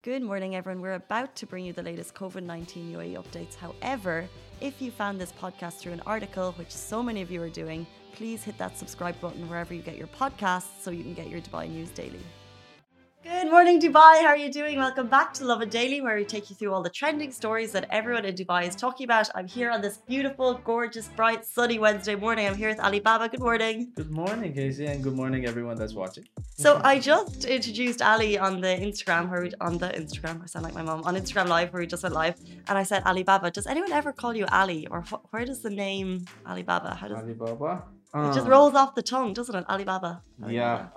Good morning, everyone. We're about to bring you the latest COVID 19 UAE updates. However, if you found this podcast through an article, which so many of you are doing, please hit that subscribe button wherever you get your podcasts so you can get your Dubai news daily. Good morning, Dubai. How are you doing? Welcome back to Lovin Daily, where we take you through all the trending stories that everyone in Dubai is talking about. I'm here on this beautiful, gorgeous, bright, sunny Wednesday morning. I'm here with Alibaba. Good morning. Good morning, Casey, and good morning, everyone that's watching. So I just introduced Ali on the Instagram, I sound like my mom, on Instagram Live, where we just went live, and I said, Alibaba, does anyone ever call you Ali, or where does the name Alibaba? How does Alibaba. it just rolls off the tongue, doesn't it? Alibaba. Yeah.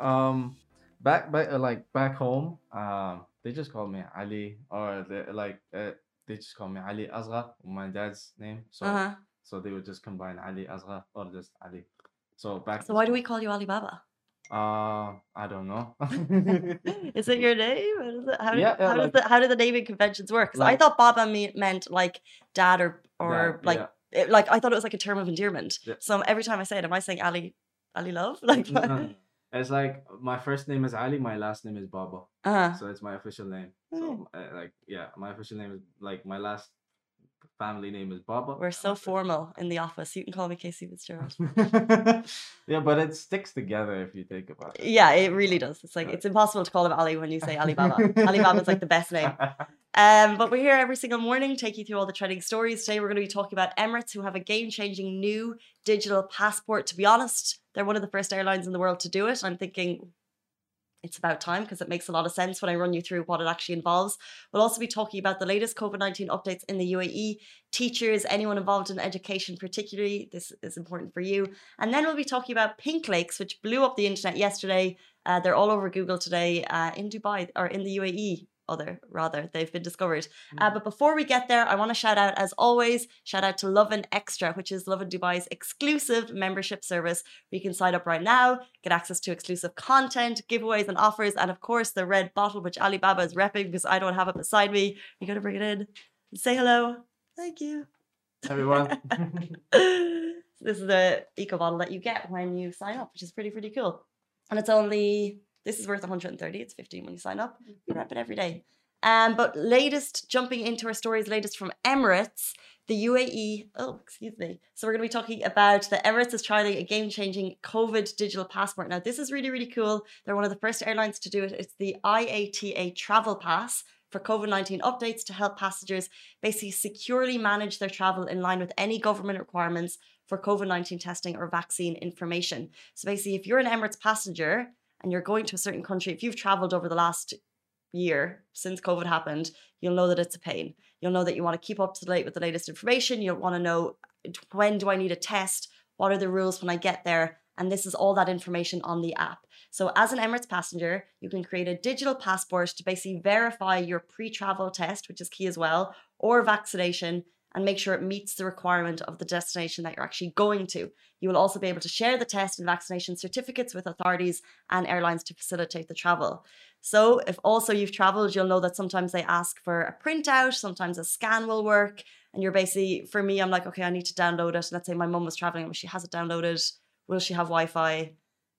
Back home, they just call me Ali, or they just call me Ali Asghar, my dad's name. So they would just combine Ali Asghar or just Ali. So why do we call you Alibaba? I don't know. Is it your name? How do the naming conventions work? Because I Like- thought Baba meant like dad or Dad, like yeah. like I thought it was like a term of endearment. Yeah. So every time I say it, am I saying Ali love? Like No. It's like my first name is Ali, my last name is Baba. uh-huh. So it's my official name. So my official name is like my last family name is Baba. We're so formal in the office. You can call me Casey Fitzgerald. Yeah, but it sticks together if you think about it. Yeah, it really does. It's like it's impossible to call him Ali when you say Alibaba. Alibaba's like the best name. But we're here every single morning, take you through all the trending stories. Today, we're going to be talking about Emirates, who have a game-changing new digital passport. To be honest, they're one of the first airlines in the world to do it. I'm thinking it's about time, because it makes a lot of sense when I run you through what it actually involves. We'll also be talking about the latest COVID-19 updates in the UAE, teachers, anyone involved in education particularly. This is important for you. And then we'll be talking about pink lakes, which blew up the internet yesterday. They're all over Google today in Dubai, or in the UAE. They've been discovered. But before we get there, I want to shout out, as always, shout out to Lovin Extra, which is Lovin Dubai's exclusive membership service, where you can sign up right now, get access to exclusive content, giveaways and offers, and of course the red bottle, which Alibaba is repping because I don't have it beside me. You got to bring it in. Say hello. Thank you. Everyone. This is the eco bottle that you get when you sign up, which is pretty cool. And this is worth 130. It's 15 when you sign up. We wrap it every day. But jumping into our stories, latest from Emirates, the UAE. Oh, excuse me. So we're going to be talking about the Emirates is trialing a game-changing COVID digital passport. Now, this is really cool. They're one of the first airlines to do it. It's the IATA Travel Pass for COVID-19 updates to help passengers basically securely manage their travel in line with any government requirements for COVID-19 testing or vaccine information. So basically, if you're an Emirates passenger and you're going to a certain country, if you've traveled over the last year since COVID happened, you'll know that it's a pain. You'll know that you want to keep up to date with the latest information. You'll want to know, when do I need a test? What are the rules when I get there? And this is all that information on the app. So as an Emirates passenger, you can create a digital passport to basically verify your pre-travel test, which is key as well, or vaccination, and make sure it meets the requirement of the destination that you're actually going to. You will also be able to share the test and vaccination certificates with authorities and airlines to facilitate the travel. So if also you've traveled, you'll know that sometimes they ask for a printout, sometimes a scan will work. And you're basically, for me, I'm like, okay, I need to download it. Let's say my mum was traveling and she has it downloaded. Will she have Wi-Fi?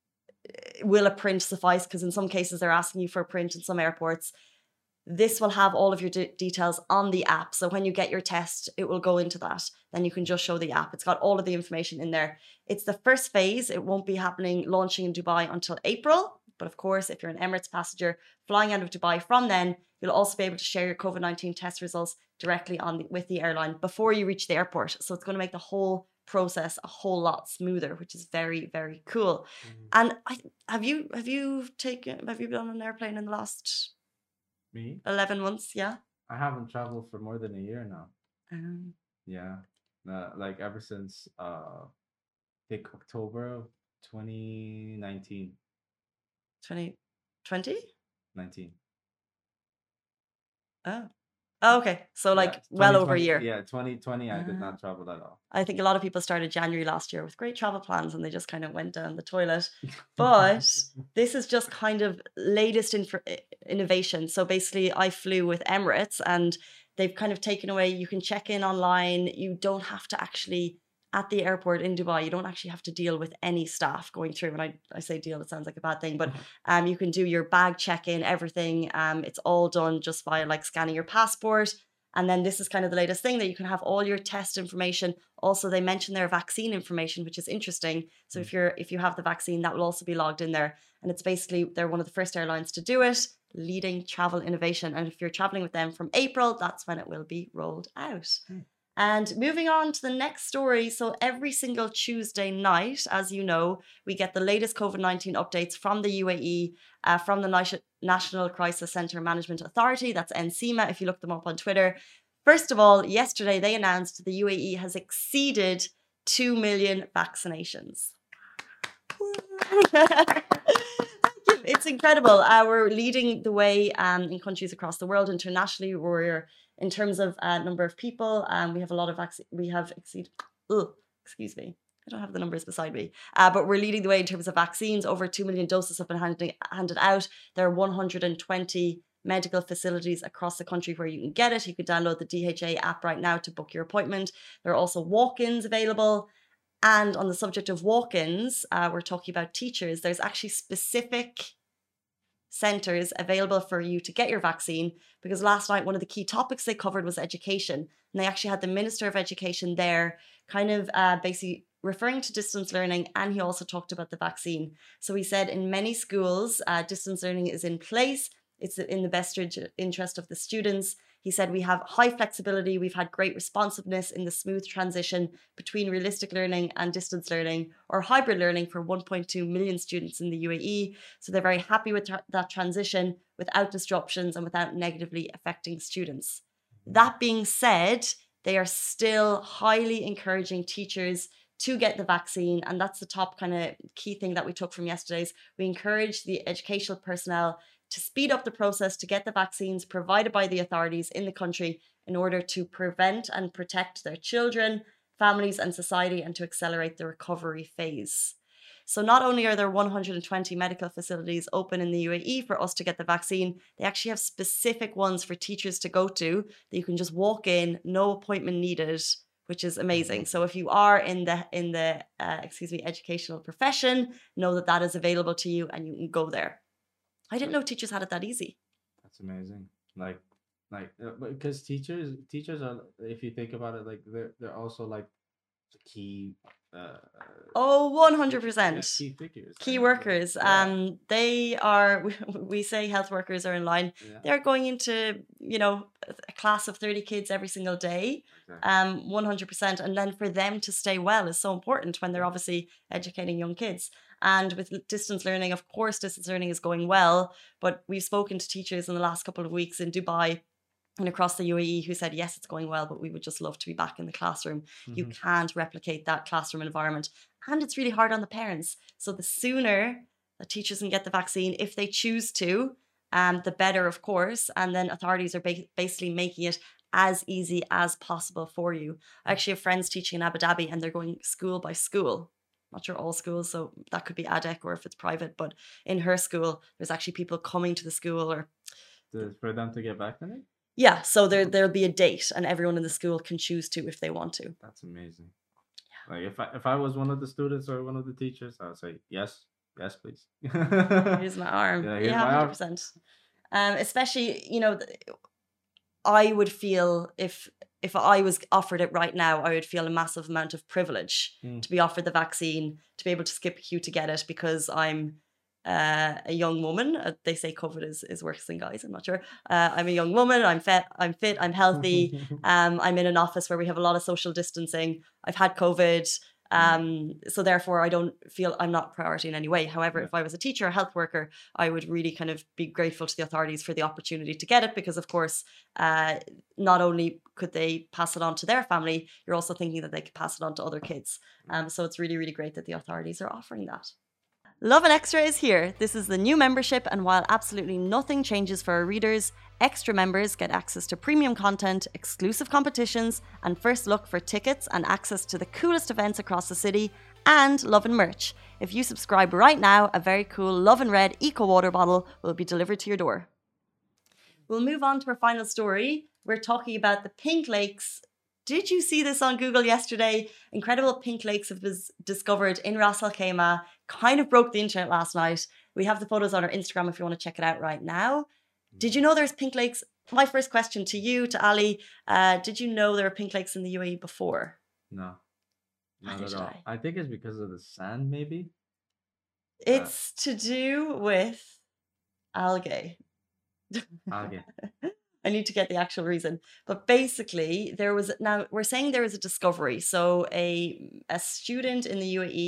Will a print suffice? Because in some cases they're asking you for a print in some airports. This will have all of your details on the app. So when you get your test, it will go into that. Then you can just show the app. It's got all of the information in there. It's the first phase. It won't be launching in Dubai until April. But of course, if you're an Emirates passenger flying out of Dubai from then, you'll also be able to share your COVID-19 test results directly with the airline before you reach the airport. So it's going to make the whole process a whole lot smoother, which is very cool. And have you been on an airplane in the last Me? 11 months? Yeah. I haven't traveled for more than a year now. Yeah. Like ever since October of 2019. 2020? 19. Oh, okay. So well over a year. Yeah, 2020 I did not travel at all. I think a lot of people started January last year with great travel plans and they just kind of went down the toilet. But this is just kind of latest innovation. So basically I flew with Emirates and they've kind of taken away, you can check in online. You don't have to actually at the airport in Dubai, you don't actually have to deal with any staff going through. And I say deal, it sounds like a bad thing, but you can do your bag check-in, everything. It's all done just by like scanning your passport. And then this is kind of the latest thing that you can have all your test information. Also, they mention their vaccine information, which is interesting. So if you have the vaccine, that will also be logged in there. And it's basically, they're one of the first airlines to do it, leading travel innovation. And if you're traveling with them from April, that's when it will be rolled out. And moving on to the next story. So every single Tuesday night, as you know, we get the latest COVID-19 updates from the UAE, from the National Crisis Center Management Authority. That's NCMA, if you look them up on Twitter. First of all, yesterday they announced the UAE has exceeded 2 million vaccinations. It's incredible. We're leading the way in countries across the world. Internationally, we're in terms of number of people. We have a lot of we have exceeded. Excuse me, I don't have the numbers beside me. But we're leading the way in terms of vaccines. Over 2 million doses have been handed out. There are 120 medical facilities across the country where you can get it. You can download the DHA app right now to book your appointment. There are also walk-ins available. And on the subject of walk-ins, we're talking about teachers. There's actually specific centres available for you to get your vaccine, because last night one of the key topics they covered was education. And they actually had the Minister of Education there kind of basically referring to distance learning, and he also talked about the vaccine. So he said in many schools, distance learning is in place. It's in the best interest of the students. He said we have high flexibility. We've had great responsiveness in the smooth transition between realistic learning and distance learning or hybrid learning for 1.2 million students in the UAE. So they're very happy with that transition without disruptions and without negatively affecting students. That being said, they are still highly encouraging teachers to get the vaccine. And that's the top kind of key thing that we took from yesterday's. We encourage the educational personnel to speed up the process to get the vaccines provided by the authorities in the country in order to prevent and protect their children, families and society, and to accelerate the recovery phase. So not only are there 120 medical facilities open in the UAE for us to get the vaccine, they actually have specific ones for teachers to go to that you can just walk in, no appointment needed, which is amazing. So if you are in the educational profession, know that that is available to you and you can go there. I didn't know teachers had it that easy. That's amazing. Because teachers are, if you think about it, like they're also like the key. 100%. Key figures. Key workers. They are. We say health workers are in line. Yeah. They're going into a class of 30 kids every single day. Exactly. 100%. And then for them to stay well is so important when they're obviously educating young kids. And with distance learning, of course, distance learning is going well. But we've spoken to teachers in the last couple of weeks in Dubai and across the UAE who said, yes, it's going well, but we would just love to be back in the classroom. Mm-hmm. You can't replicate that classroom environment. And it's really hard on the parents. So the sooner that teachers can get the vaccine, if they choose to, the better, of course. And then authorities are basically making it as easy as possible for you. I actually have friends teaching in Abu Dhabi and they're going school by school. Not sure all schools, so that could be ADEC or if it's private, but in her school, there's actually people coming to the school or for them to get vaccinated? Yeah, so there'll be a date and everyone in the school can choose to if they want to. That's amazing. Yeah. Like if I was one of the students or one of the teachers, I would say yes, please. Here's my arm. Yeah, 100%. Especially, I would feel if I was offered it right now, I would feel a massive amount of privilege to be offered the vaccine, to be able to skip a queue to get it because I'm a young woman. They say COVID is worse than guys. I'm not sure. I'm a young woman. I'm fit. I'm healthy. I'm in an office where we have a lot of social distancing. I've had COVID. So therefore, I don't feel I'm not priority in any way. However, if I was a teacher or health worker, I would really kind of be grateful to the authorities for the opportunity to get it because, of course, not only could they pass it on to their family, you're also thinking that they could pass it on to other kids. So it's really, really great that the authorities are offering that. Lovin Extra is here. This is the new membership, and while absolutely nothing changes for our readers, Extra members get access to premium content, exclusive competitions, and first look for tickets and access to the coolest events across the city, and Lovin merch. If you subscribe right now, a very cool Lovin Red Eco Water bottle will be delivered to your door. We'll move on to our final story. We're talking about the Pink Lakes Did you see this on Google yesterday? Incredible pink lakes have been discovered in Ras Al Khaimah. Kind of broke the internet last night. We have the photos on our Instagram if you want to check it out right now. Did you know there's pink lakes? My first question to you, to Ali, did you know there were pink lakes in the UAE before? No, not at all. I think it's because of the sand, maybe. It's to do with algae. Algae. I need to get the actual reason. But basically, now we're saying there was a discovery. So a student in the UAE,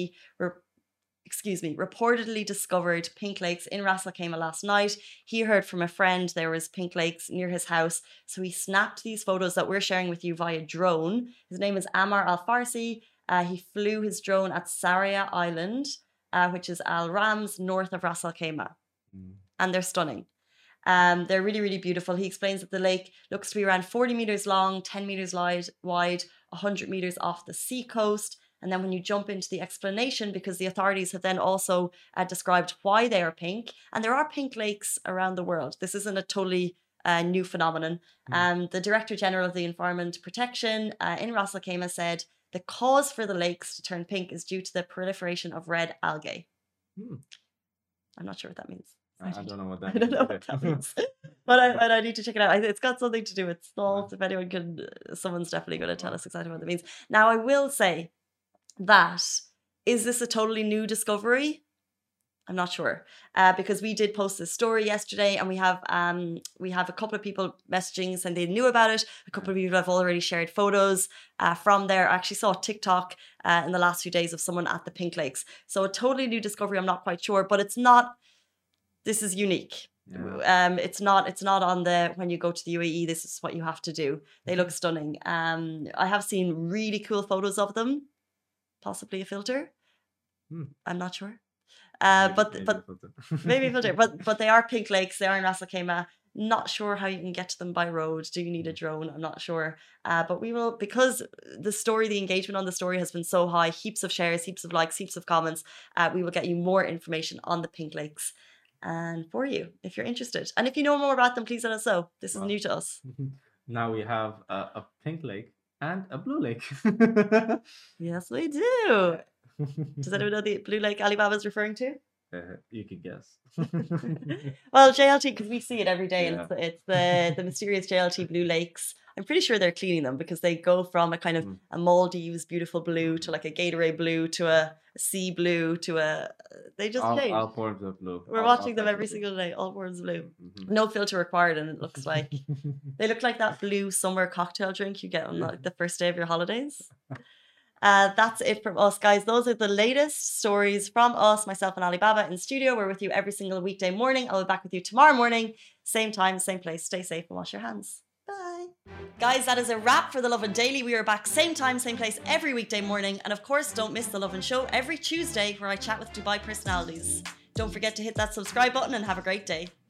reportedly discovered pink lakes in Ras Al Khaimah last night. He heard from a friend there was pink lakes near his house. So he snapped these photos that we're sharing with you via drone. His name is Ammar Al Farsi. He flew his drone at Saria Island, which is Al Rams, north of Ras Al Khaimah. And they're stunning. They're really, really beautiful. He explains that the lake looks to be around 40 meters long, 10 meters wide, 100 meters off the sea coast. And then when you jump into the explanation, because the authorities have then also described why they are pink, and there are pink lakes around the world. This isn't a totally new phenomenon. The Director General of the Environment Protection in Ras Al Khaimah said the cause for the lakes to turn pink is due to the proliferation of red algae. I'm not sure what that means. I don't know what that means. I don't know what that means. But I need to check it out. It's got something to do with salt. If anyone can, someone's definitely going to tell us exactly what that means. Now, I will say that, is this a totally new discovery? I'm not sure, because we did post this story yesterday, and we have a couple of people messaging saying they knew about it. A couple of people have already shared photos from there. I actually saw a TikTok in the last few days of someone at the Pink Lakes. So a totally new discovery. I'm not quite sure, but it's not. This is unique. Yeah. It's not on the when you go to the UAE. This is what you have to do. They look stunning. I have seen really cool photos of them. Possibly a filter. I'm not sure. Maybe a filter. But they are pink lakes. They are in Ras Al Khaimah. Not sure how you can get to them by road. Do you need a drone? I'm not sure. But we will, because the engagement on the story has been so high. Heaps of shares, heaps of likes, heaps of comments. We will get you more information on the pink lakes, and for you if you're interested. And if you know more about them, please let us know. This is new to us. Now we have a pink lake and a blue lake. Yes, we do. Does anyone know the blue lake Alibaba is referring to? You could guess. Well, JLT, because we see it every day, and it's the mysterious JLT blue lakes. I'm pretty sure they're cleaning them, because they go from a kind of a Maldives beautiful blue to like a Gatorade blue to a sea blue to they just change. All forms of blue. We're watching them every single day. All forms of blue. No filter required, and it looks like they look like that blue summer cocktail drink you get on like the first day of your holidays. That's it from us, guys. Those are the latest stories from us, myself and Alibaba in studio. We're with you every single weekday morning. I'll be back with you tomorrow morning, same time, same place. Stay safe and wash your hands. Bye. Guys, that is a wrap for The Lovin Daily. We are back same time, same place every weekday morning. And of course, don't miss The Lovin Show every Tuesday, where I chat with Dubai personalities. Don't forget to hit that subscribe button and have a great day.